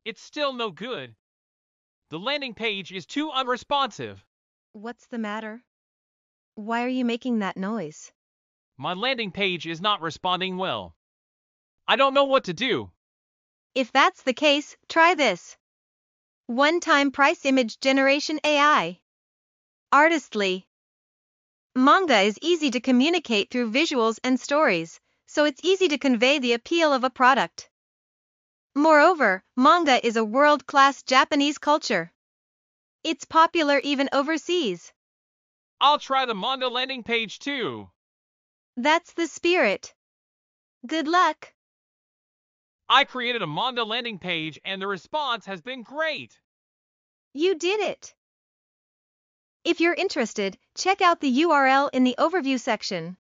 It's still no good. The landing page is too unresponsive. What's the matter? Why are you making that noise? My landing page is not responding well. I don't know what to do. If that's the case, try this. One-time price image generation AI. Artistly. Manga is easy to communicate through visuals and stories, so it's easy to convey the appeal of a product. Moreover, manga is a world-class Japanese culture. It's popular even overseas. I'll try the manga landing page too. That's the spirit. Good luck. I created a manga landing page and the response has been great. You did it. If you're interested, check out the URL in the overview section.